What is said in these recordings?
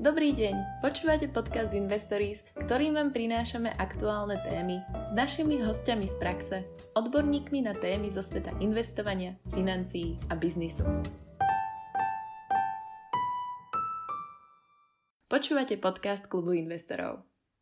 Dobrý deň, počúvate podcast Investories, ktorým vám prinášame aktuálne témy s našimi hostiami z praxe, odborníkmi na témy zo sveta investovania, financií a biznisu. Počúvate podcast Klubu investorov.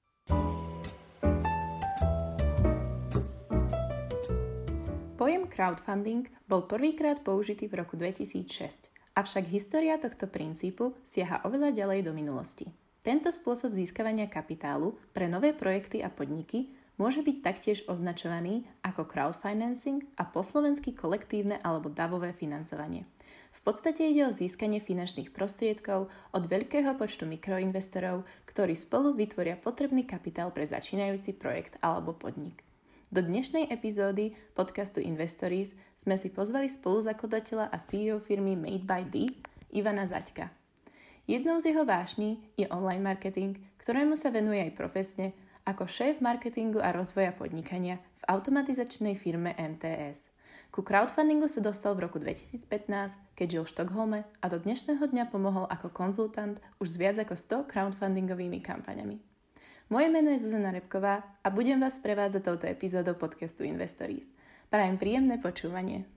Pojem crowdfunding bol prvýkrát použitý v roku 2006. Avšak história tohto princípu siaha oveľa ďalej do minulosti. Tento spôsob získavania kapitálu pre nové projekty a podniky môže byť taktiež označovaný ako crowdfinancing a po slovensky kolektívne alebo davové financovanie. V podstate ide o získanie finančných prostriedkov od veľkého počtu mikroinvestorov, ktorí spolu vytvoria potrebný kapitál pre začínajúci projekt alebo podnik. Do dnešnej epizódy podcastu Investories sme si pozvali spoluzakladateľa a CEO firmy Made by D, Ivana Zaďka. Jednou z jeho vášní je online marketing, ktorému sa venuje aj profesne ako šéf marketingu a rozvoja podnikania v automatizačnej firme MTS. Ku crowdfundingu sa dostal v roku 2015, keď žil v Štokholme a do dnešného dňa pomohol ako konzultant už s viac ako 100 crowdfundingovými kampaňami. Moje meno je Zuzana Repková a budem vás prevádzať touto epizódou podcastu Investories. Prajem príjemné počúvanie.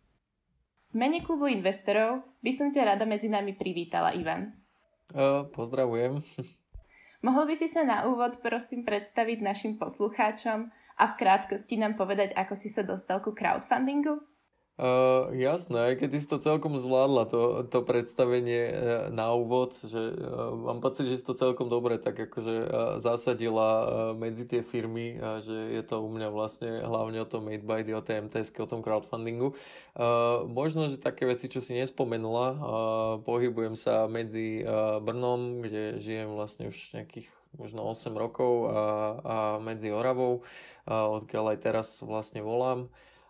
V mene klubu investorov by som ťa rada medzi nami privítala, Ivan. Pozdravujem. Mohol by si sa na úvod prosím predstaviť našim poslucháčom a v krátkosti nám povedať, ako si sa dostal ku crowdfundingu? Jasné, aj keď si to celkom zvládla, to predstavenie na úvod, že mám pocit, že si to celkom dobre tak akože zasadila medzi tie firmy, že je to u mňa vlastne hlavne o tom Made by D, o tej MTS-ke, o tom crowdfundingu. Možno, že také veci, čo si nespomenula, pohybujem sa medzi Brnom, kde žijem vlastne už nejakých možno 8 rokov a medzi Oravou, odkiaľ aj teraz vlastne volám.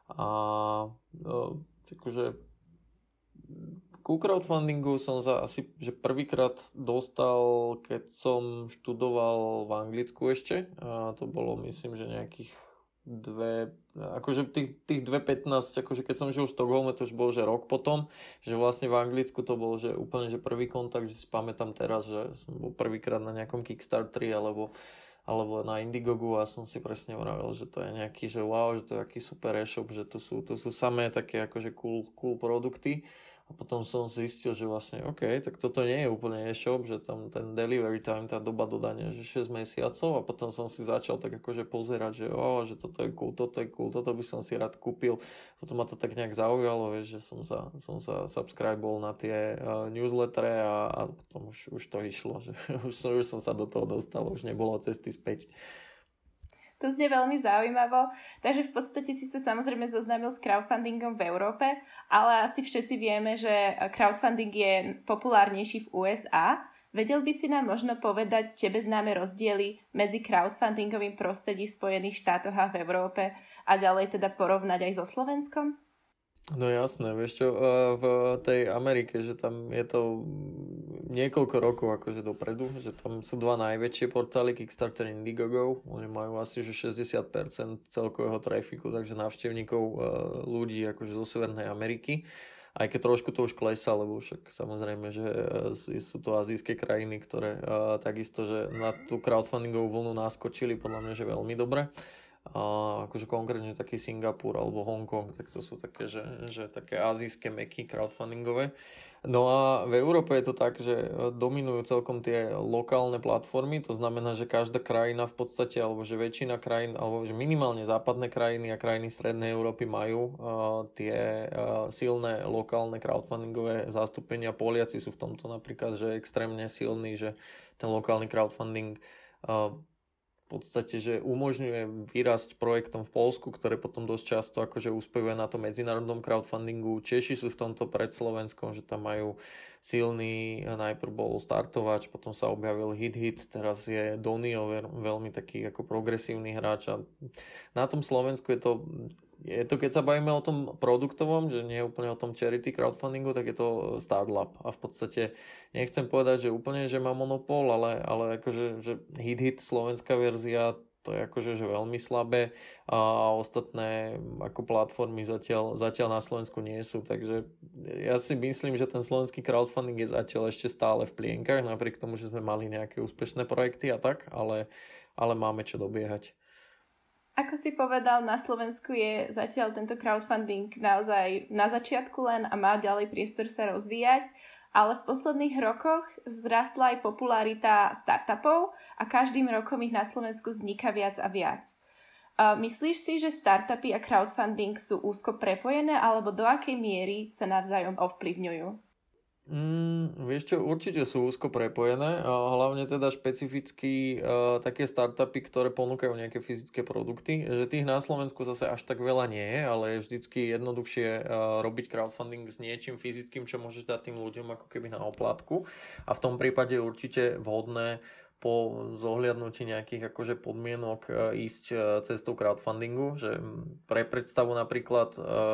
A takže ku crowdfundingu som sa asi že prvýkrát dostal, keď som študoval v Anglicku ešte. A to bolo myslím, že nejakých akože tých 2015, akože keď som žil v Štokholme, to už bol že rok potom, že vlastne v Anglicku to bol že úplne že prvý kontakt, že si pamätám teraz, že som bol prvýkrát na nejakom Kickstarteri alebo na Indiegogu a som si presne vravil, že to je nejaký, že wow, že to je aký super e-shop, že to sú samé také akože cool produkty. A potom som zistil, že vlastne OK, tak toto nie je úplne e-shop, že tam ten delivery time, tá doba dodania, že 6 mesiacov a potom som si začal tak akože pozerať, že toto je cool, toto by som si rád kúpil. Potom ma to tak nejak zaujalo, vieš, že som sa subscribol na tie newslettere a potom už to išlo, že už som sa do toho dostal, už nebolo cesty späť. To znie veľmi zaujímavo, takže v podstate si sa samozrejme zoznámil s crowdfundingom v Európe, ale asi všetci vieme, že crowdfunding je populárnejší v USA. Vedel by si nám možno povedať tebe známe rozdiely medzi crowdfundingovým prostredím v Spojených štátoch a v Európe a ďalej teda porovnať aj so Slovenskom? No jasné, vieš čo, v tej Amerike, že tam je to niekoľko rokov akože dopredu, že tam sú dva najväčšie portály, Kickstarter a Indiegogo, oni majú asi že 60% celkového trafiku, takže návštevníkov ľudí akože zo Severnej Ameriky, aj keď trošku to už klesá, lebo však samozrejme, že sú to azijské krajiny, ktoré takisto, že na tú crowdfundingovú vlnu naskočili podľa mňa, že veľmi dobre. Akože konkrétne taký Singapur alebo Hongkong, tak to sú také, že také azijské meky crowdfundingové. No a v Európe je to tak, že dominujú celkom tie lokálne platformy, to znamená, že každá krajina v podstate, alebo že väčšina krajín, alebo že minimálne západné krajiny a krajiny strednej Európy majú tie silné lokálne crowdfundingové zastúpenia. Poliaci sú v tomto napríklad, že extrémne silní, že ten lokálny crowdfunding v podstate, že umožňuje vyrásť projektom v Poľsku, ktoré potom dosť často akože uspevuje na tom medzinárodnom crowdfundingu. Češi sú v tomto pred Slovenskom, že tam majú silný, najprv bol Startovač, potom sa objavil Hit, teraz je Donio, veľmi taký ako progresívny hráč. A na tom Slovensku je to, keď sa bavíme o tom produktovom, že nie je úplne o tom charity crowdfundingu, tak je to Startlab. A v podstate nechcem povedať, že úplne, že má monopol, ale akože že Hit, slovenská verzia, to je akože že veľmi slabé a ostatné ako platformy zatiaľ na Slovensku nie sú, takže ja si myslím, že ten slovenský crowdfunding je zatiaľ ešte stále v plienkach, napriek tomu, že sme mali nejaké úspešné projekty a tak, ale máme čo dobiehať. Ako si povedal, na Slovensku je zatiaľ tento crowdfunding naozaj na začiatku len a má ďalej priestor sa rozvíjať, ale v posledných rokoch vzrastla aj popularita startupov a každým rokom ich na Slovensku vzniká viac a viac. Myslíš si, že startupy a crowdfunding sú úzko prepojené alebo do akej miery sa navzájom ovplyvňujú? Vieš čo, určite sú úzko prepojené, a hlavne teda špecificky také startupy, ktoré ponúkajú nejaké fyzické produkty, že tých na Slovensku zase až tak veľa nie je, ale je vždycky jednoduchšie robiť crowdfunding s niečím fyzickým, čo môžeš dať tým ľuďom ako keby na oplátku, a v tom prípade je určite vhodné po zohľadnutí nejakých akože podmienok ísť cestou crowdfundingu, že pre predstavu napríklad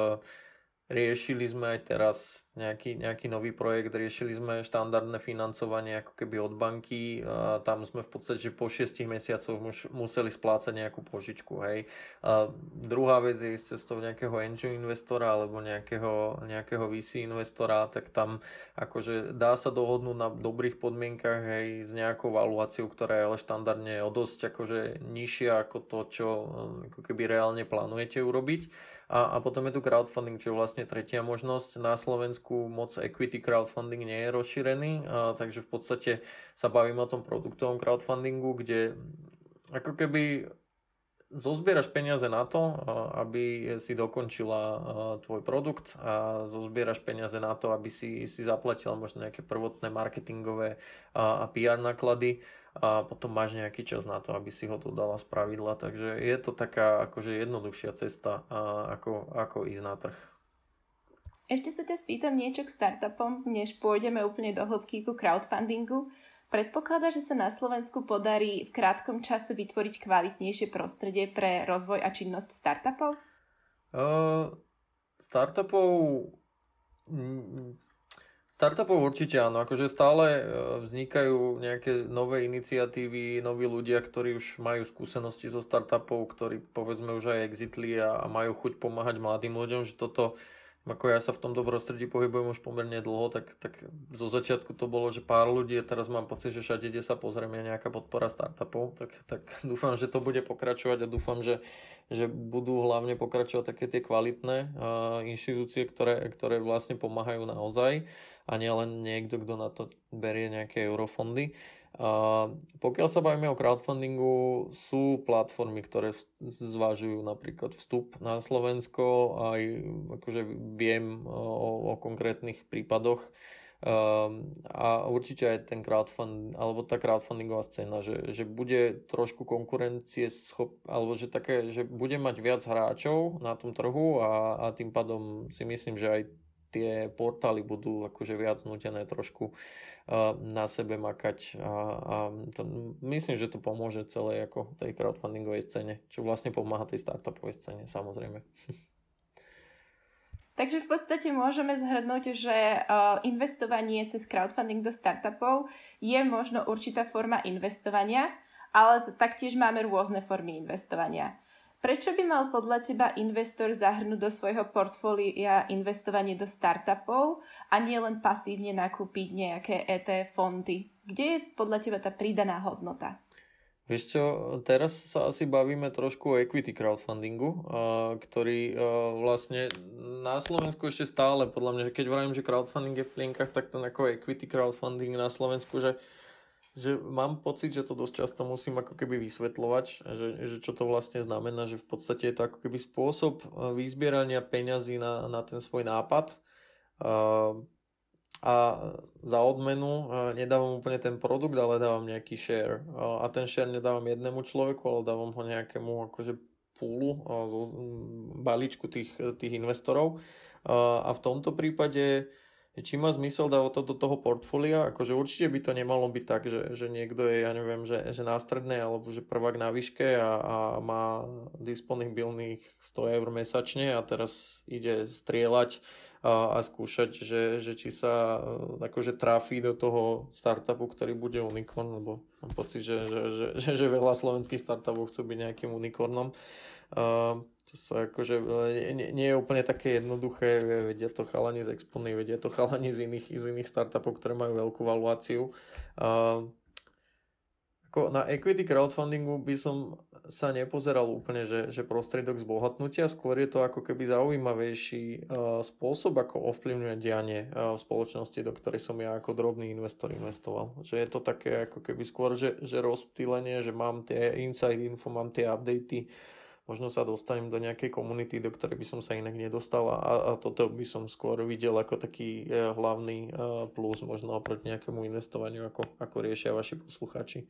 riešili sme aj teraz nejaký nový projekt, riešili sme štandardné financovanie ako keby od banky, tam sme v podstate po 6 mesiacoch museli splácať nejakú požičku, hej. Druhá vec je ísť cestou nejakého angel investora alebo nejakého VC investora, tak tam akože dá sa dohodnúť na dobrých podmienkach, hej, s nejakou valuáciou, ktorá je ale štandardne o dosť akože nižšia ako to, čo ako keby reálne plánujete urobiť. A potom je tu crowdfunding, čo je vlastne tretia možnosť. Na Slovensku moc equity crowdfunding nie je rozšírený, takže v podstate sa bavíme o tom produktovom crowdfundingu, kde ako keby zozbieraš peniaze na to, aby si dokončila tvoj produkt, a zozbieraš peniaze na to, aby si zaplatila možno nejaké prvotné marketingové a PR náklady, a potom máš nejaký čas na to, aby si ho dodala z pravidla, takže je to taká akože jednoduchšia cesta, ako ísť na trh. Ešte sa ťa spýtam niečo k startupom, než pôjdeme úplne do hĺbky ku crowdfundingu. Predpokladá, že sa na Slovensku podarí v krátkom čase vytvoriť kvalitnejšie prostredie pre rozvoj a činnosť startupov? Startupov určite áno, akože stále vznikajú nejaké nové iniciatívy, noví ľudia, ktorí už majú skúsenosti so startupov, ktorí povedzme už aj exitli a majú chuť pomáhať mladým ľuďom, že toto, ako ja sa v tomto prostredí pohybujem už pomerne dlho, tak zo začiatku to bolo, že pár ľudí, a teraz mám pocit, že všade, kde sa pozrieme, nejaká podpora startupov, tak dúfam, že to bude pokračovať a dúfam, že budú hlavne pokračovať také tie kvalitné inštitúcie, ktoré vlastne pomáhajú naozaj, a nie len niekto, kto na to berie nejaké eurofondy. Pokiaľ sa bavíme o crowdfundingu, sú platformy, ktoré zvažujú napríklad vstup na Slovensko, aj akože viem o konkrétnych prípadoch, a určite aj ten alebo tá crowdfundingová scéna, že bude trošku alebo že bude mať viac hráčov na tom trhu, a tým pádom si myslím, že aj tie portály budú akože viac nútené trošku na sebe makať, a myslím, že to pomôže celej ako tej crowdfundingovej scéne, čo vlastne pomáha tej startupovej scéne, samozrejme. Takže v podstate môžeme zhrnúť, že investovanie cez crowdfunding do startupov je možno určitá forma investovania, ale taktiež máme rôzne formy investovania. Prečo by mal podľa teba investor zahrnúť do svojho portfólia investovanie do startupov a nie len pasívne nakúpiť nejaké ETF fondy? Kde je podľa teba tá pridaná hodnota? Vieš čo, teraz sa asi bavíme trošku o equity crowdfundingu, ktorý vlastne na Slovensku ešte stále, podľa mňa, že keď vravím, že crowdfunding je v plienkach, tak ten ako equity crowdfunding na Slovensku, že mám pocit, že to dosť často musím ako keby vysvetľovať, že čo to vlastne znamená, že v podstate je to ako keby spôsob vyzbierania peňazí na ten svoj nápad, a za odmenu nedávam úplne ten produkt, ale dávam nejaký share, a ten share nedávam jednému človeku, ale dávam ho nejakému akože poolu, balíčku tých investorov, a v tomto prípade či má zmysel dávať to do toho portfólia, akože určite by to nemalo byť tak, že niekto je, ja neviem, že na strednej alebo že prvák na výške a má disponibilných 100 eur mesačne a teraz ide strieľať a skúšať, že či sa akože trafí do toho startupu, ktorý bude unicorn, lebo mám pocit, že veľa slovenských startupov chcú byť nejakým unicornom. To sa akože nie je úplne také jednoduché, vedia to chalani z Expony, vedia to chalani z iných startupov, ktoré majú veľkú valuáciu. Na equity crowdfundingu by som sa nepozeral úplne, že prostriedok zbohatnutia, skôr je to ako keby zaujímavejší spôsob, ako ovplyvňuje dianie v spoločnosti, do ktorej som ja ako drobný investor investoval. Že je to také ako keby skôr, že rozptýlenie, že mám tie inside info, mám tie updaty, možno sa dostanem do nejakej komunity, do ktorej by som sa inak nedostal a toto by som skôr videl ako taký hlavný plus možno oproti nejakému investovaniu, ako riešia vaši poslucháči.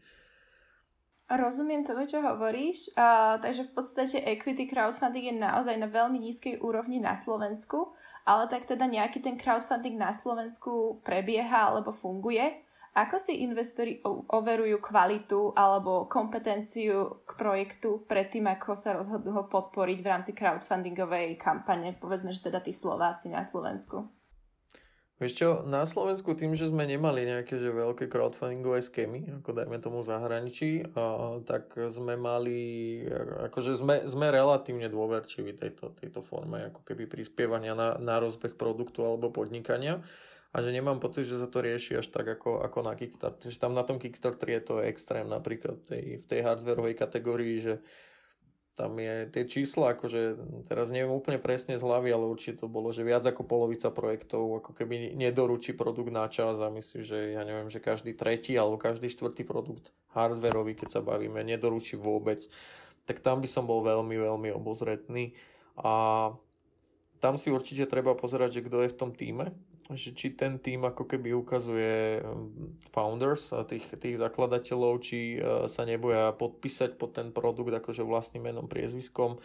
Rozumiem tomu, čo hovoríš, takže v podstate equity crowdfunding je naozaj na veľmi nízkej úrovni na Slovensku, ale tak teda nejaký ten crowdfunding na Slovensku prebieha alebo funguje. Ako si investori overujú kvalitu alebo kompetenciu k projektu predtým, ako sa rozhodnú ho podporiť v rámci crowdfundingovej kampane, povedzme, že teda tí Slováci na Slovensku? Vieš čo, na Slovensku tým, že sme nemali nejaké že veľké crowdfundingové skémy, ako dajme tomu v zahraničí, tak sme mali, akože sme relatívne dôverčiví tejto forme, ako keby prispievania na rozbeh produktu alebo podnikania. A že nemám pocit, že sa to rieši až tak ako na Kickstarter. Že tam na tom Kickstarter je to extrém, napríklad v tej hardwareovej kategórii, že tam je tie čísla, akože teraz neviem úplne presne z hlavy, ale určite to bolo, že viac ako polovica projektov ako keby nedoručí produkt na čas a myslím, že ja neviem, že každý tretí alebo každý štvrtý produkt hardwareový, keď sa bavíme, nedoručí vôbec. Tak tam by som bol veľmi, veľmi obozretný a tam si určite treba pozerať, že kto je v tom tíme, že či ten tým ako keby ukazuje founders, tých zakladateľov, či sa neboja podpísať pod ten produkt akože vlastným menom, priezviskom.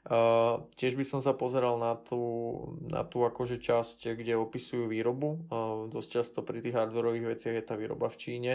Tiež by som sa pozeral na tú akože časť, kde opisujú výrobu. Dosť často pri tých hardwareových veciach je tá výroba v Číne.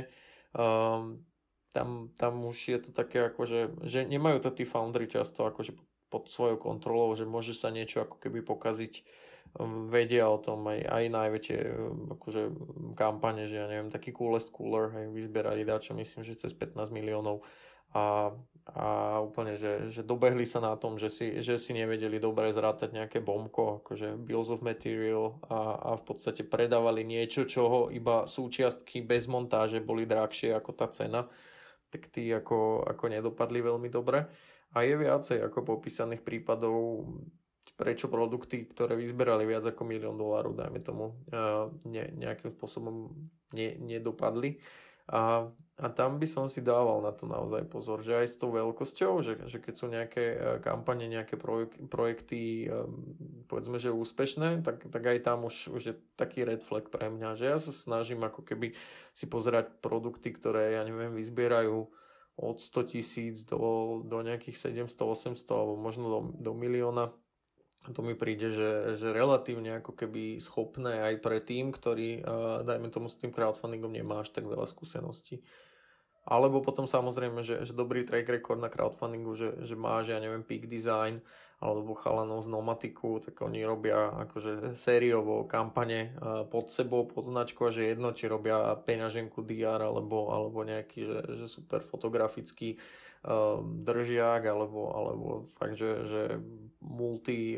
Tam už je to také akože, že nemajú to tí foundry často akože pod svojou kontrolou, že môže sa niečo ako keby pokaziť. Vedia o tom aj najväčšie akože kampane, že ja neviem, taký Coolest Cooler, vyzberali dáčo, myslím, že cez 15 miliónov a úplne, že dobehli sa na tom, že si nevedeli dobre zrátať nejaké bombko, akože bills of material a v podstate predávali niečo, čoho iba súčiastky bez montáže boli drahšie ako tá cena, tak tí ako nedopadli veľmi dobre. A je viacej ako popísaných prípadov, prečo produkty, ktoré vyzberali viac ako $1 000 000, dajme tomu, nejakým spôsobom nedopadli. A tam by som si dával na to naozaj pozor, že aj s tou veľkosťou, že keď sú nejaké kampane, nejaké projekty, povedzme, že úspešné, tak aj tam už je taký red flag pre mňa, že ja sa snažím ako keby si pozerať produkty, ktoré, ja neviem, vyzbierajú od 100 000 do nejakých 700, 800 alebo možno do milióna. To mi príde, že relatívne ako keby schopné aj pre tým, ktorý, dajme tomu, s tým crowdfundingom nemá až tak veľa skúseností. Alebo potom samozrejme, že dobrý track record na crowdfundingu, že máš, ja neviem, Peak Design alebo chalanov z Nomatiku, tak oni robia akože sériovo kampane pod sebou, pod značkou, že jedno, či robia peňaženku DR alebo nejaký, že super fotografický držiak alebo fakt, že multi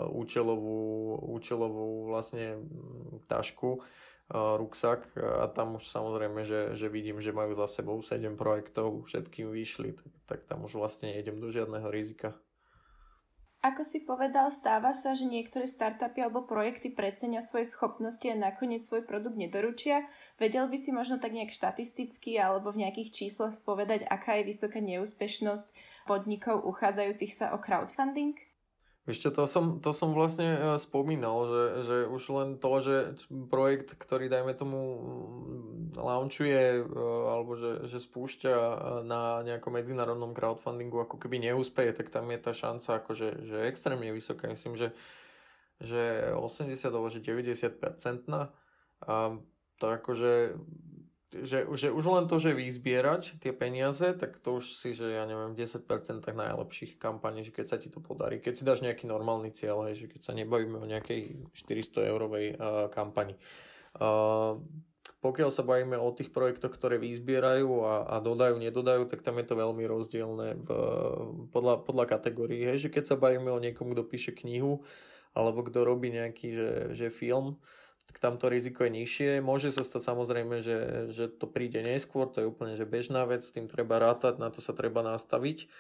účelovú vlastne tašku, ruksak a tam už samozrejme, že vidím, že majú za sebou 7 projektov, všetkým vyšli, tak tam už vlastne nejdem do žiadneho rizika. Ako si povedal, stáva sa, že niektoré startupy alebo projekty precenia svoje schopnosti a nakoniec svoj produkt nedoručia. Vedel by si možno tak nejak štatisticky alebo v nejakých číslach povedať, aká je vysoká neúspešnosť podnikov uchádzajúcich sa o crowdfunding? Ešte to som vlastne spomínal, že už len to, že projekt, ktorý dajme tomu launchuje alebo že spúšťa na nejakom medzinárodnom crowdfundingu ako keby neúspeje, tak tam je tá šanca akože že extrémne vysoká. Myslím, že 80 alebo že 90%. A to akože že už len to, že vyzbierať tie peniaze, tak to už si, že ja neviem, v 10% najlepších kampaní, že keď sa ti to podarí, keď si dáš nejaký normálny cieľ, hej, že keď sa nebavíme o nejakej 400 eurovej kampani. Pokiaľ sa bavíme o tých projektoch, ktoré vyzbierajú a dodajú, nedodajú, tak tam je to veľmi rozdielne podľa kategórií. Hej, že keď sa bavíme o niekom, kto píše knihu, alebo kto robí nejaký že film, tak tam to riziko je nižšie. Môže sa stať samozrejme, že to príde neskôr, to je úplne že bežná vec, s tým treba rátať, na to sa treba nastaviť.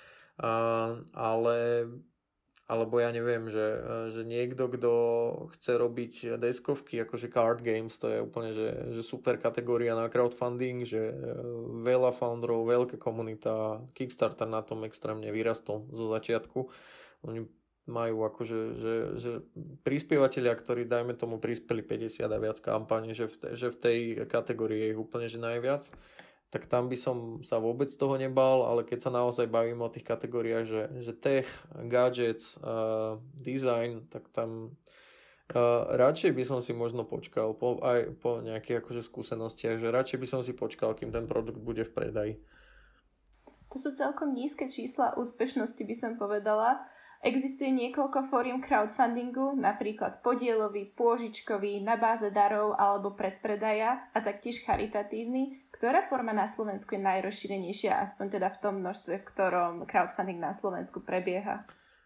Alebo ja neviem, že niekto, kto chce robiť deskovky, akože card games, to je úplne že super kategória na crowdfunding, že veľa founderov, veľká komunita, Kickstarter na tom extrémne vyrastol zo začiatku. Oni majú akože, že prispievateľia, ktorí dajme tomu prispeli 50 a viac kampaní, že v tej kategórii je ich úplne že najviac, tak tam by som sa vôbec z toho nebal, ale keď sa naozaj bavíme o tých kategóriách, že tech, gadgets, design, tak tam radšej by som si možno počkal aj po nejakých akože skúsenostiach, že radšej by som si počkal, kým ten produkt bude v predaji. To sú celkom nízke čísla úspešnosti, by som povedala. Existuje niekoľko fóriem crowdfundingu, napríklad podielový, pôžičkový, na báze darov alebo predpredaja a taktiež charitatívny. Ktorá forma na Slovensku je najrozšírenejšia, aspoň teda v tom množstve, v ktorom crowdfunding na Slovensku prebieha?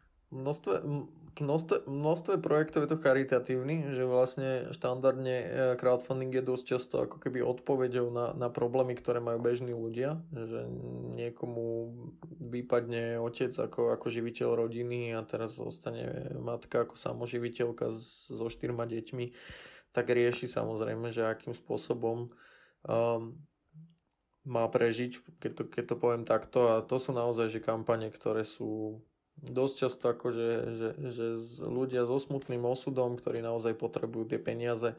Množstve projektov je to charitatívny, že vlastne štandardne crowdfunding je dosť často ako keby odpoveďou na problémy, ktoré majú bežní ľudia, že niekomu vypadne otec ako živiteľ rodiny a teraz zostane matka ako samoživiteľka so 4 deťmi, tak rieši samozrejme, že akým spôsobom má prežiť, keď to poviem takto, a to sú naozaj že kampane, ktoré sú dosť často akože že ľudia so smutným osudom, ktorí naozaj potrebujú tie peniaze.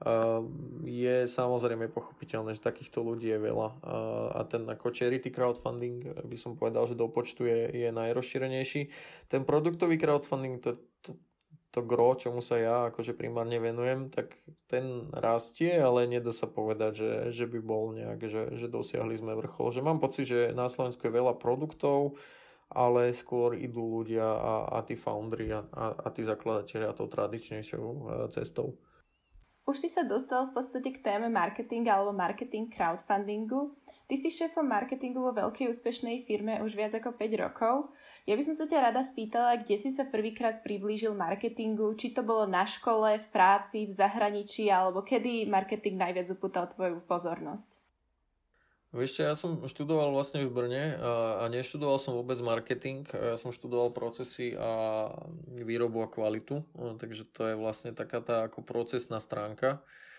Je samozrejme pochopiteľné, že takýchto ľudí je veľa. A ten ako charity crowdfunding by som povedal, že do počtu je najrozšírenejší. Ten produktový crowdfunding, to gro, čomu sa ja akože primárne venujem, tak ten rastie, ale nedá sa povedať, že by bol nejak, že dosiahli sme vrchol. Že mám pocit, že na Slovensku je veľa produktov, ale skôr idú ľudia a tí foundry a tí zakladatelia tou tradičnejšou cestou. Už si sa dostal v podstate k téme marketing alebo marketing crowdfundingu. Ty si šéfom marketingu vo veľkej úspešnej firme už viac ako 5 rokov. Ja by som sa ťa rada spýtala, kde si sa prvýkrát priblížil marketingu, či to bolo na škole, v práci, v zahraničí, alebo kedy marketing najviac upútal tvoju pozornosť? Vieš, ja som študoval vlastne v Brne a neštudoval som vôbec marketing, ja som študoval procesy a výrobu a kvalitu, takže to je vlastne taká tá ako procesná stránka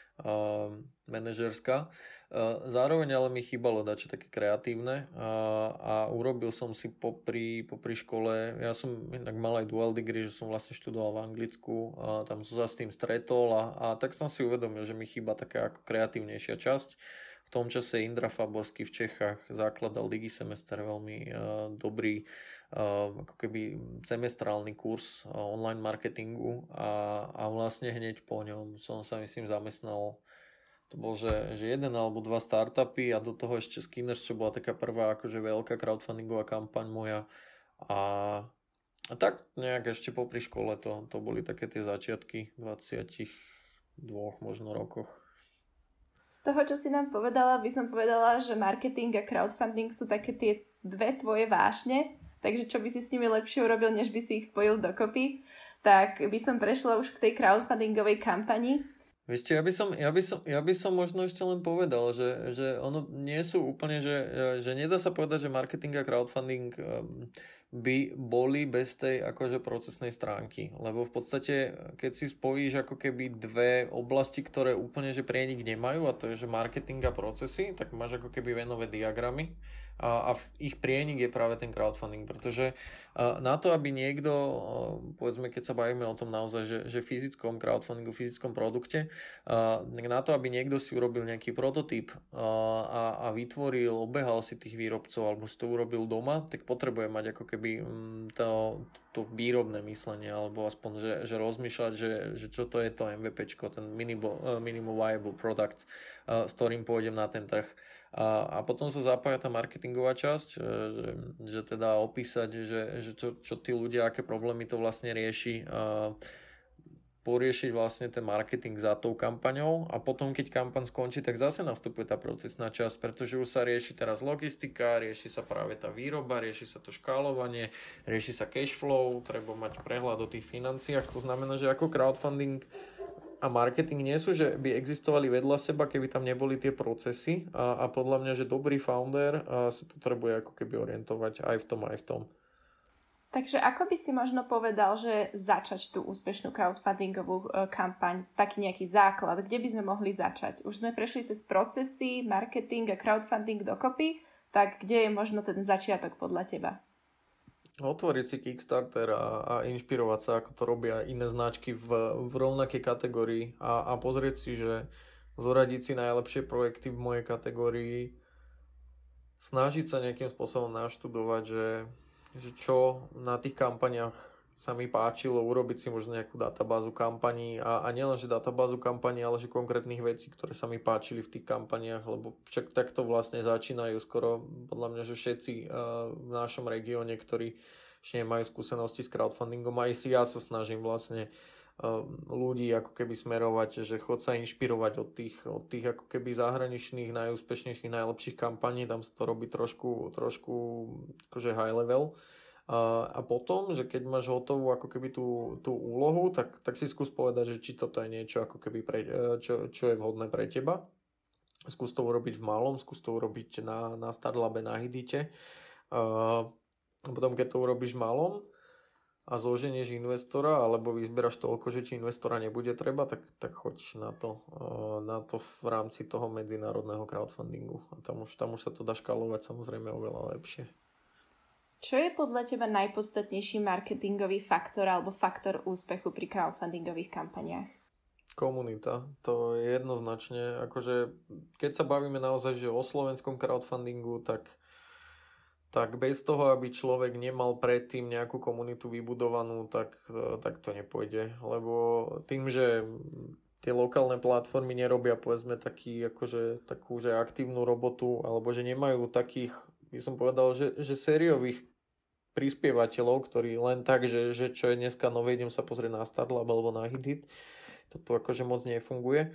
manažerská. Zároveň ale mi chýbalo dačo také kreatívne a urobil som si popri škole, ja som inak mal aj dual degree, že som vlastne študoval v Anglicku, tam som sa s tým stretol a tak som si uvedomil, že mi chýba taká ako kreatívnejšia časť. V tom čase Indra Faborský v Čechách zakladal Digisemester, veľmi dobrý ako keby semestrálny kurz online marketingu a vlastne hneď po ňom som sa myslím zamestnal. To bol, že jeden alebo dva startupy a do toho ešte Skinners, čo bola taká prvá akože veľká crowdfundingová kampaň moja a tak nejak ešte popri škole to boli také tie začiatky 22 možno rokoch. Z toho, čo si nám povedala, by som povedala, že marketing a crowdfunding sú také tie dve tvoje vášne, takže čo by si s nimi lepšie urobil, než by si ich spojil dokopy, tak by som prešla už k tej crowdfundingovej kampani. Viete, ja by som možno ešte len povedal, že ono nie sú úplne, že nedá sa povedať, že marketing a crowdfunding by boli bez tej akože procesnej stránky. Lebo v podstate, keď si spojíš ako keby dve oblasti, ktoré úplne že prienik nemajú, a to je, že marketing a procesy, tak máš ako keby venové diagramy a ich prienik je práve ten crowdfunding, pretože na to, aby niekto, povedzme, keď sa bavíme o tom naozaj, že fyzickom crowdfundingu, fyzickom produkte, na to, aby niekto si urobil nejaký prototyp a vytvoril, obehal si tých výrobcov alebo si to urobil doma, tak potrebuje mať ako keby keby to výrobné myslenie, alebo aspoň, že rozmýšľať, že čo to je to MVPčko, ten minimum viable product, s ktorým pôjdem na ten trh. A potom sa zapája tá marketingová časť, že teda opísať, že čo tí ľudia, aké problémy to vlastne rieši, poriešiť vlastne ten marketing za tou kampaňou a potom, keď kampaň skončí, tak zase nastupuje tá procesná časť, pretože už sa rieši teraz logistika, rieši sa práve tá výroba, rieši sa to škálovanie, rieši sa cash flow, treba mať prehľad o tých financiách, to znamená, že ako crowdfunding a marketing nie sú, že by existovali vedľa seba, keby tam neboli tie procesy a podľa mňa, že dobrý founder sa potrebuje ako keby orientovať aj v tom, aj v tom. Takže ako by si možno povedal, že začať tú úspešnú crowdfundingovú kampaň, taký nejaký základ, kde by sme mohli začať? Už sme prešli cez procesy, marketing a crowdfunding dokopy, tak kde je možno ten začiatok podľa teba? Otvoriť si Kickstarter a inšpirovať sa, ako to robia iné značky v rovnakej kategórii a pozrieť si, že zoradiť si najlepšie projekty v mojej kategórii, snažiť sa nejakým spôsobom naštudovať, že čo na tých kampaniach sa mi páčilo, urobiť si možno nejakú databázu kampaní a nielen, že databázu kampaní, ale že konkrétnych vecí, ktoré sa mi páčili v tých kampaniách, lebo však takto vlastne začínajú skoro, podľa mňa, že všetci v našom regióne, ktorí ešte nemajú skúsenosti s crowdfundingom, aj si ja sa snažím vlastne ľudí ako keby smerovať, že chod sa inšpirovať od tých ako keby zahraničných, najúspešnejších, najlepších kampaní, tam sa to robí trošku akože high level. A potom, že keď máš hotovú ako keby tú úlohu, tak si skús povedať, že či toto je niečo ako keby čo je vhodné pre teba. Skús to urobiť v malom, skús to urobiť na Starlabe, na Hidite. A potom, keď to urobíš v malom, a zoženieš investora, alebo vyzberaš toľko, že či investora nebude treba, tak choď na to v rámci toho medzinárodného crowdfundingu. A tam už sa to dá škalovať samozrejme oveľa lepšie. Čo je podľa teba najpodstatnejší marketingový faktor alebo faktor úspechu pri crowdfundingových kampaniách? Komunita. To je jednoznačne, akože keď sa bavíme naozaj že o slovenskom crowdfundingu, tak bez toho, aby človek nemal predtým nejakú komunitu vybudovanú, tak to nepôjde. Lebo tým, že tie lokálne platformy nerobia, povedzme, takú že aktívnu robotu, alebo že nemajú takých, by som povedal, že sériových prispievateľov, ktorí len tak, že čo je dneska nové, idem sa pozrieť na Startlab alebo na HitHit, toto akože moc nefunguje.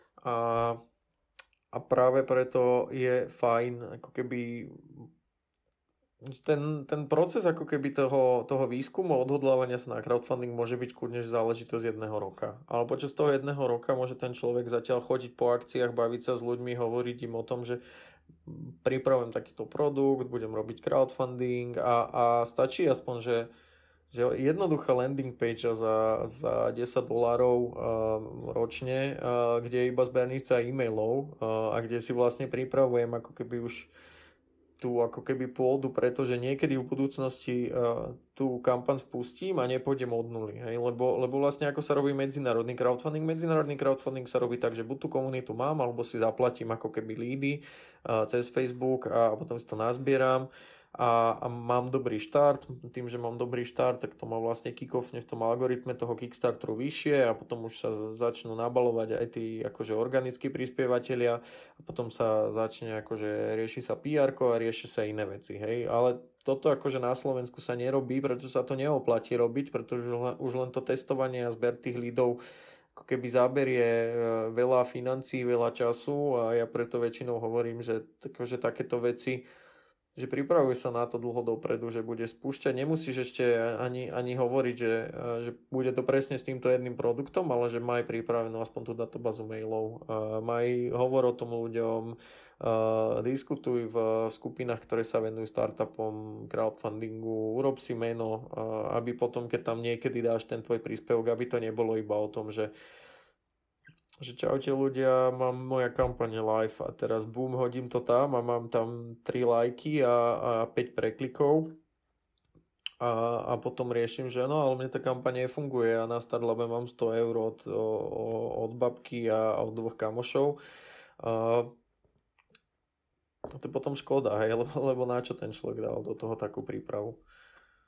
A práve preto je fajn, ako keby ten proces ako keby toho výskumu, odhodlávania sa na crowdfunding môže byť kľudne záležitosť 1 roka. Ale počas toho 1 roka môže ten človek zatiaľ chodiť po akciách, baviť sa s ľuďmi, hovoriť im o tom, že pripravujem takýto produkt, budem robiť crowdfunding a stačí aspoň, že jednoduchá landing page za $10 ročne, kde je iba zbernica e-mailov a kde si vlastne pripravujem ako keby už tú ako keby pôdu, pretože niekedy v budúcnosti tú kampaň spustím a nepôjdem od nuly. Hej? Lebo vlastne ako sa robí medzinárodný crowdfunding? Medzinárodný crowdfunding sa robí tak, že buď tú komunitu mám, alebo si zaplatím ako keby lídy cez Facebook a potom si to nazbieram a mám dobrý štart. Tým, že mám dobrý štart, tak to ma vlastne kick-offne v tom algoritme toho Kickstarteru vyššie a potom už sa začnú nabalovať aj tí akože organickí prispievateľia a potom sa začne akože rieši sa PR-ko a rieši sa iné veci, hej. Ale toto akože na Slovensku sa nerobí, pretože sa to neoplatí robiť, pretože už len to testovanie a zber tých lídov ako keby zaberie veľa financií, veľa času a ja preto väčšinou hovorím, že akože takéto veci, že pripravuje sa na to dlho dopredu, že bude spúšťať. Nemusíš ešte ani hovoriť, že bude to presne s týmto jedným produktom, ale že maj pripravenú aspoň tú databázu mailov. Maj hovor o tom ľuďom, diskutuj v skupinách, ktoré sa venujú startupom, crowdfundingu, urob si meno, aby potom, keď tam niekedy dáš ten tvoj príspevok, aby to nebolo iba o tom, že čaute ľudia, mám moja kampaň live a teraz boom, hodím to tam a mám tam 3 lajky a 5 preklikov a potom riešim, že no, ale mne tá kampaň nefunguje a na Starlabe mám 100 eur od babky a od 2 kamošov. A to je potom škoda, hej, lebo na čo ten človek dal do toho takú prípravu.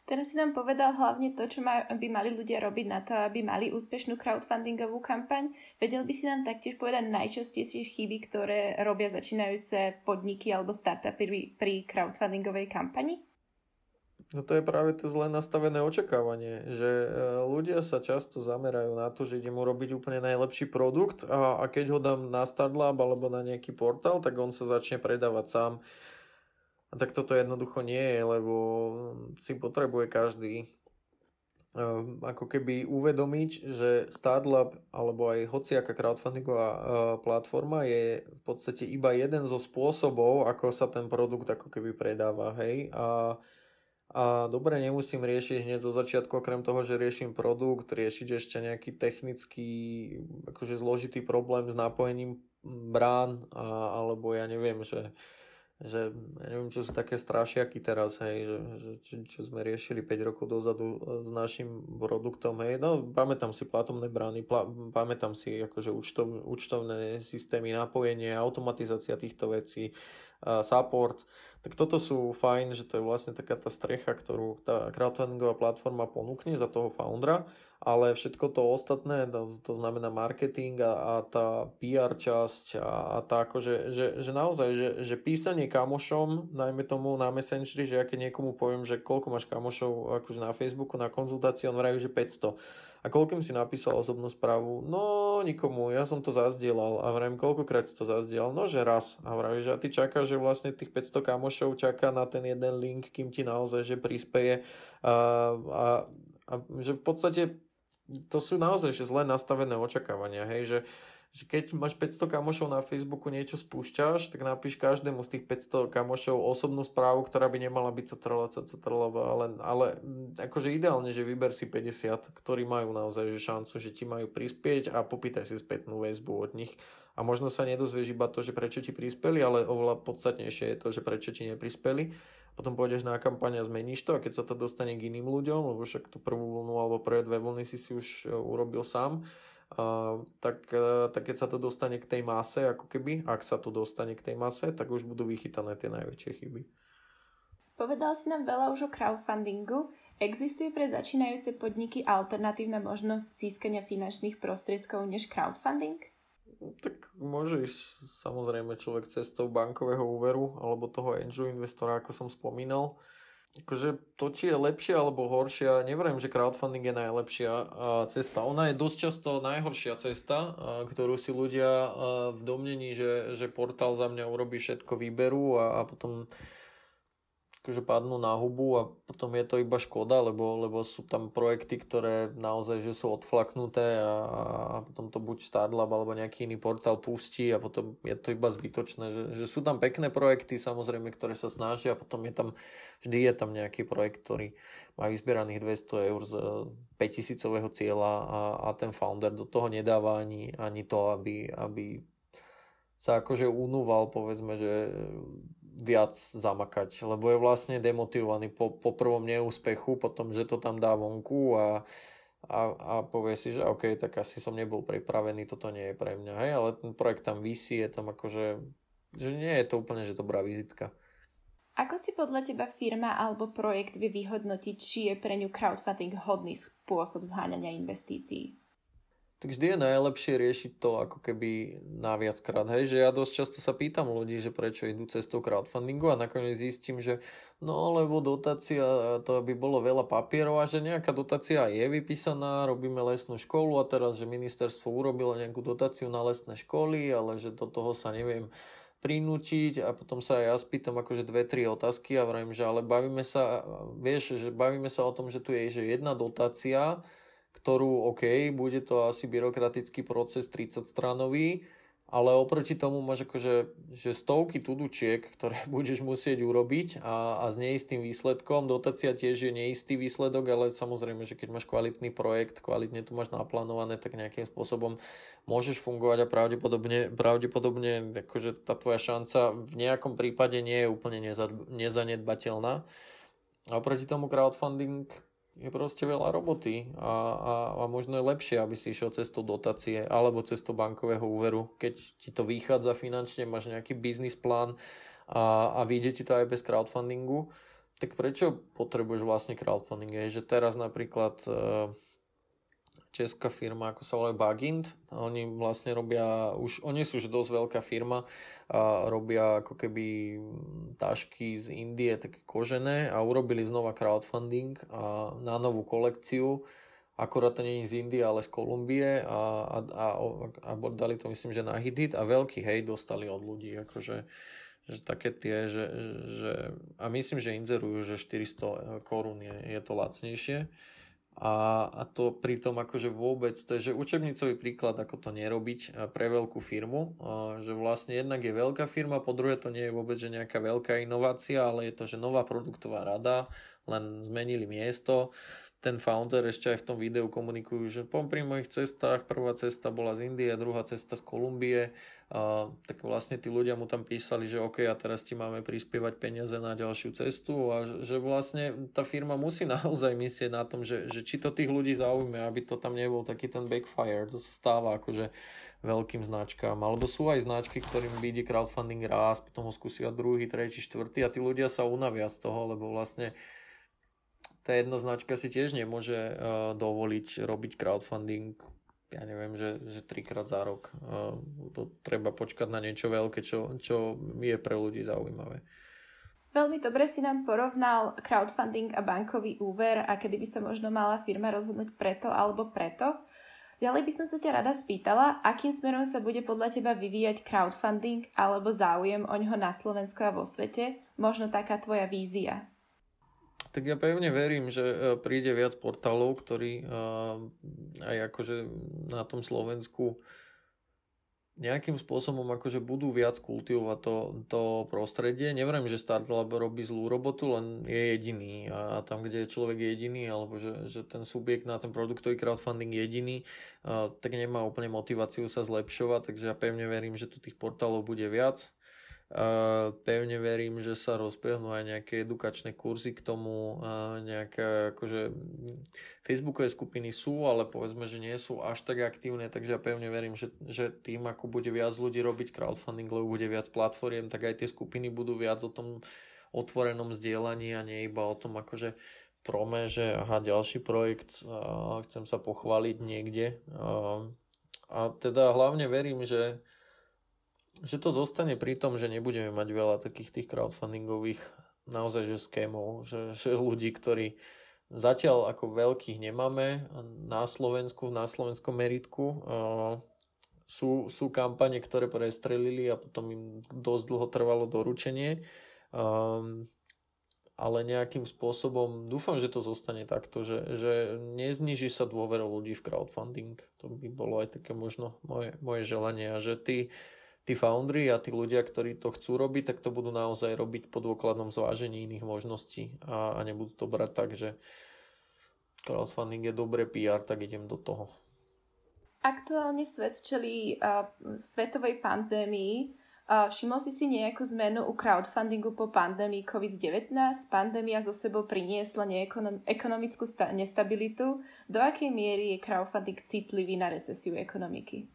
Teraz si nám povedal hlavne to, čo by mali ľudia robiť na to, aby mali úspešnú crowdfundingovú kampaň. Vedel by si nám taktiež povedať najčastejšie chyby, ktoré robia začínajúce podniky alebo startupy pri crowdfundingovej kampani? No to je práve to zle nastavené očakávanie, že ľudia sa často zamerajú na to, že idem urobiť úplne najlepší produkt a keď ho dám na Startlab alebo na nejaký portál, tak on sa začne predávať sám. A tak toto jednoducho nie je, lebo si potrebuje každý ako keby uvedomiť, že Startlab alebo aj hociaká crowdfundingová platforma je v podstate iba jeden zo spôsobov, ako sa ten produkt ako keby predáva, hej. A dobre, nemusím riešiť hneď zo začiatku, okrem toho, že riešim produkt, riešiť ešte nejaký technický, akože zložitý problém s napojením brán, alebo ja neviem, že ja neviem, čo sú také strašiaky teraz, hej, čo sme riešili 5 rokov dozadu s našim produktom, hej, no pamätám si platobné brány, pamätám si akože účtovné systémy, napojenie, automatizácia týchto vecí, support, tak toto sú fajn, že to je vlastne taká tá strecha, ktorú tá crowdfundingová platforma ponúkne za toho foundera, ale všetko to ostatné, to znamená marketing a tá PR časť a tá akože, že naozaj, že písanie kamošom, najmä tomu na Messengeri, že ja keď niekomu poviem, že koľko máš kamošov akože na Facebooku na konzultácii, on vraví, že 500. A koľkým si napísal osobnú správu? No nikomu, ja som to zazdielal a vravím, koľkokrát si to zazdielal? No že raz. A vraví, že a ty čakáš, že vlastne tých 500 kamošov čaká na ten jeden link, kým ti naozaj, že prispeje a že v podstate to sú naozaj že zle nastavené očakávania, hej, že keď máš 500 kamošov na Facebooku niečo spúšťaš, tak napíš každému z tých 500 kamošov osobnú správu, ktorá by nemala byť CTRL, ale akože ideálne, že vyber si 50, ktorí majú naozaj že šancu, že ti majú prispieť a popýtaj si spätnú väzbu od nich. A možno sa nedozvieš iba to, že prečo ti prispeli, ale oveľa podstatnejšie je to, že prečo ti neprispeli. Potom pôjdeš na kampaň a zmeníš to a keď sa to dostane k iným ľuďom, lebo však tú prvú vlnu alebo prvé 2 vlny si už urobil sám, tak keď sa to dostane k tej mase, ako keby, ak sa to dostane k tej mase, tak už budú vychytané tie najväčšie chyby. Povedal si nám veľa už o crowdfundingu. Existuje pre začínajúce podniky alternatívna možnosť získania finančných prostriedkov než crowdfunding? Tak môže ísť samozrejme človek cestou bankového úveru alebo toho angel investora, ako som spomínal. Akože to, či je lepšia alebo horšia, neverím, že crowdfunding je najlepšia cesta. Ona je dosť často najhoršia cesta, ktorú si ľudia v domnení, že portál za mňa urobí všetko, výberu a potom akože padnú na hubu a potom je to iba škoda, lebo sú tam projekty, ktoré naozaj že sú odflaknuté a potom to buď Startlab alebo nejaký iný portál pustí a potom je to iba zbytočné, že sú tam pekné projekty samozrejme, ktoré sa snažia a potom vždy je tam nejaký projekt, ktorý má vyzbieraných 200 eur z 5000 cieľa a ten founder do toho nedáva ani to, aby sa akože unúval, povedzme, že viac zamakať, lebo je vlastne demotivovaný po prvom neúspechu, potom, že to tam dá vonku a povie si, že OK, tak asi som nebol pripravený, toto nie je pre mňa, hej, ale ten projekt tam visí, je tam akože, že nie je to úplne, že dobrá vizitka. Ako si podľa teba firma alebo projekt vie vyhodnotiť, či je pre ňu crowdfunding hodný spôsob zháňania investícií? Tak vždy je najlepšie riešiť to ako keby naviackrát, hej, že ja dosť často sa pýtam ľudí, že prečo idú cestou crowdfundingu a nakoniec zistím, že no lebo dotácia, to by bolo veľa papierov a že nejaká dotácia je vypísaná, robíme lesnú školu a teraz, že ministerstvo urobilo nejakú dotáciu na lesné školy, ale že do toho sa neviem prinútiť a potom sa ja spýtam akože 2-3 otázky a vravím, že ale bavíme sa o tom, že tu je že jedna dotácia, ktorú, OK, bude to asi byrokratický proces 30-stranový, ale oproti tomu máš akože že stovky tudučiek, ktoré budeš musieť urobiť a s neistým výsledkom. Dotácia tiež je neistý výsledok, ale samozrejme, že keď máš kvalitný projekt, kvalitne to máš naplánované, tak nejakým spôsobom môžeš fungovať a pravdepodobne akože tá tvoja šanca v nejakom prípade nie je úplne nezanedbateľná. A oproti tomu crowdfunding je proste veľa roboty a možno je lepšie, aby si išiel cestou dotácie alebo cestou bankového úveru. Keď ti to vychádza finančne, máš nejaký biznis plán a vyjde ti to aj bez crowdfundingu, Tak prečo potrebuješ vlastne crowdfunding? Je, že teraz napríklad česká firma, ako sa volá Bagint, oni vlastne robia, oni sú už dosť veľká firma a robia ako keby tašky z Indie, také kožené a urobili znova crowdfunding na novú kolekciu. Akorát to nie je z Indie, ale z Kolumbie a dali to myslím, že na Hit a veľký hejt dostali od ľudí, akože že také tie, a myslím, že inzerujú, že 400 korún je to lacnejšie. A to pritom akože vôbec, to je že učebnicový príklad, ako to nerobiť pre veľkú firmu, že vlastne jednak je veľká firma, po druhé to nie je vôbec že nejaká veľká inovácia, ale je to že nová produktová rada, len zmenili miesto. Ten founder ešte aj v tom videu komunikujú, že pri mojich cestách, prvá cesta bola z Indie, druhá cesta z Kolumbie, tak vlastne tí ľudia mu tam písali, že OK, a teraz ti máme prispievať peniaze na ďalšiu cestu a že vlastne tá firma musí naozaj myslieť na tom, že či to tých ľudí zaujme, aby to tam nebol taký ten backfire, to sa stáva akože veľkým značkám, alebo sú aj značky, ktorým vyjde crowdfunding raz, potom ho skúsia druhý, tretí, štvrtý a tí ľudia sa unavia z toho, lebo vlastne tá jedna značka si tiež nemôže dovoliť robiť crowdfunding, ja neviem, že 3-krát za rok. To treba počkať na niečo veľké, čo je pre ľudí zaujímavé. Veľmi dobre si nám porovnal crowdfunding a bankový úver a kedy by sa možno mala firma rozhodnúť preto alebo preto. Ďalej by som sa ťa rada spýtala, akým smerom sa bude podľa teba vyvíjať crowdfunding alebo záujem oňho na Slovensku a vo svete, možno taká tvoja vízia. Tak ja pevne verím, že príde viac portálov, ktorí aj akože na tom Slovensku nejakým spôsobom akože budú viac kultivovať to prostredie. Neverím, že Startlab robí zlú robotu, len je jediný a tam, kde je človek jediný alebo že ten subjekt na ten produktový crowdfunding je jediný, tak nemá úplne motiváciu sa zlepšovať, takže ja pevne verím, že tu tých portálov bude viac. Pevne verím, že sa rozbehnú aj nejaké edukačné kurzy k tomu, nejaké akože Facebookové skupiny sú, ale povedzme, že nie sú až tak aktívne, takže ja pevne verím, že tým, ako bude viac ľudí robiť crowdfunding, lebo bude viac platform, tak aj tie skupiny budú viac o tom otvorenom zdieľaní a nie iba o tom akože prome, že aha, ďalší projekt, chcem sa pochváliť niekde. A teda hlavne verím, že to zostane pri tom, že nebudeme mať veľa takých tých crowdfundingových naozaj že skémov, že ľudí, ktorí zatiaľ ako veľkých nemáme na Slovensku, na slovenskom meritku. Sú kampane, ktoré prestrelili a potom im dosť dlho trvalo doručenie. Ale nejakým spôsobom dúfam, že to zostane takto, že nezniží sa dôvera ľudí v crowdfunding. To by bolo aj také možno moje želanie a že tí foundry a tí ľudia, ktorí to chcú robiť, tak to budú naozaj robiť po dôkladnom zvážení iných možností a nebudú to brať tak, že crowdfunding je dobré PR, tak idem do toho. Aktuálne svet čelí svetovej pandémii. Všimol si nejakú zmenu u crowdfundingu po pandémii COVID-19? Pandémia zo sebou priniesla ekonomickú nestabilitu. Do akej miery je crowdfunding citlivý na recesiu ekonomiky?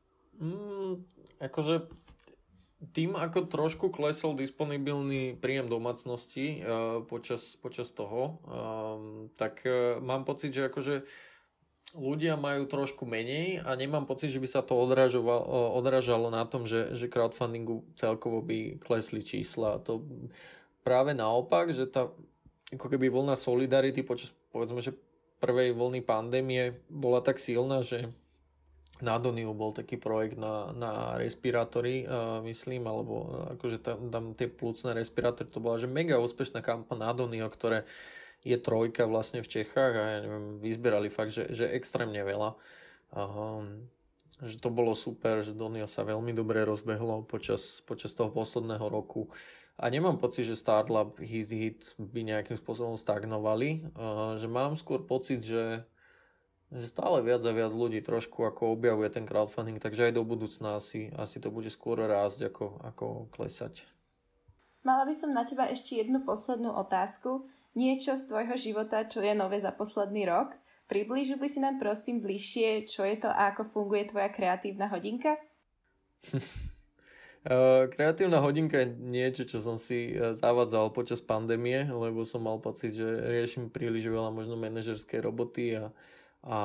Akože tým, ako trošku klesol disponibilný príjem domácnosti počas toho, tak mám pocit, že akože ľudia majú trošku menej a nemám pocit, že by sa to odrážalo na tom, že crowdfundingu celkovo by klesli čísla. To práve naopak, že tá ako keby vlna solidarity počas, povedzme, že prvej vlny pandémie bola tak silná, že na Doniu bol taký projekt na respirátory, myslím, alebo akože tam tie plúcne respirátory, to bola že mega úspešná kampaň na Donio, ktoré je trojka vlastne v Čechách a ja neviem, vyzbierali fakt, že extrémne veľa. Že to bolo super, že Donio sa veľmi dobre rozbehlo počas toho posledného roku. A nemám pocit, že Startlab hit by nejakým spôsobom stagnovali, že mám skôr pocit, že stále viac a viac ľudí trošku ako objavuje ten crowdfunding, takže aj do budúcna asi to bude skôr rásť ako klesať. Mala by som na teba ešte jednu poslednú otázku. Niečo z tvojho života, čo je nové za posledný rok? Priblížil by si nám prosím bližšie, čo je to a ako funguje tvoja kreatívna hodinka? Kreatívna hodinka je niečo, čo som si zavádzal počas pandémie, lebo som mal pocit, že riešim príliš veľa možno manažerskej roboty a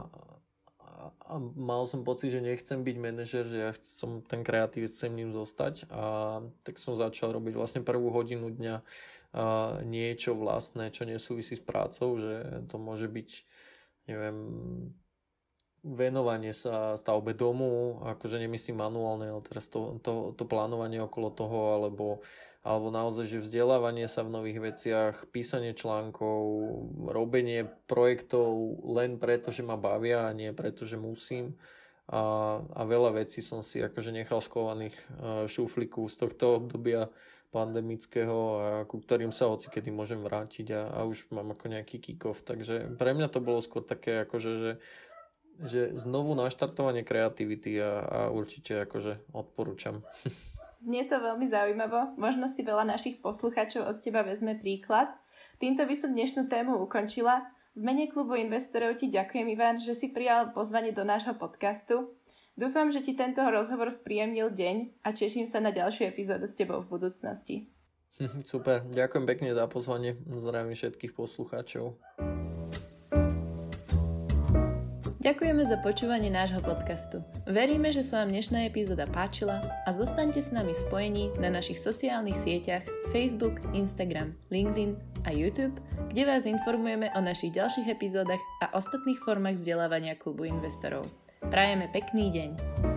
mal som pocit, že nechcem byť manažer, že ja som ten kreatívec, chcem ním zostať a tak som začal robiť vlastne prvú hodinu dňa niečo vlastné, čo nesúvisí s prácou, že to môže byť, neviem, venovanie sa stavbe domu, akože nemyslím manuálne, ale teraz to plánovanie okolo toho, alebo naozaj, že vzdelávanie sa v nových veciach, písanie článkov, robenie projektov len preto, že ma bavia a nie preto, že musím. A veľa vecí som si akože nechal schovaných v šuflíku z tohto obdobia pandemického, ku ktorým sa hocikedy môžem vrátiť a už mám ako nejaký kick-off. Takže pre mňa to bolo skôr také akože, že znovu naštartovanie kreativity a určite akože odporúčam. Znie to veľmi zaujímavo. Možno si veľa našich poslucháčov od teba vezme príklad. Týmto by som dnešnú tému ukončila. V mene klubu investorov ti ďakujem, Ivan, že si prijal pozvanie do nášho podcastu. Dúfam, že ti tento rozhovor spríjemnil deň a teším sa na ďalšiu epizódu s tebou v budúcnosti. Super, ďakujem pekne za pozvanie. Zdravím všetkých poslucháčov. Ďakujeme za počúvanie nášho podcastu. Veríme, že sa vám dnešná epizóda páčila a zostaňte s nami v spojení na našich sociálnych sieťach Facebook, Instagram, LinkedIn a YouTube, kde vás informujeme o našich ďalších epizódach a ostatných formách vzdelávania klubu investorov. Prajeme pekný deň.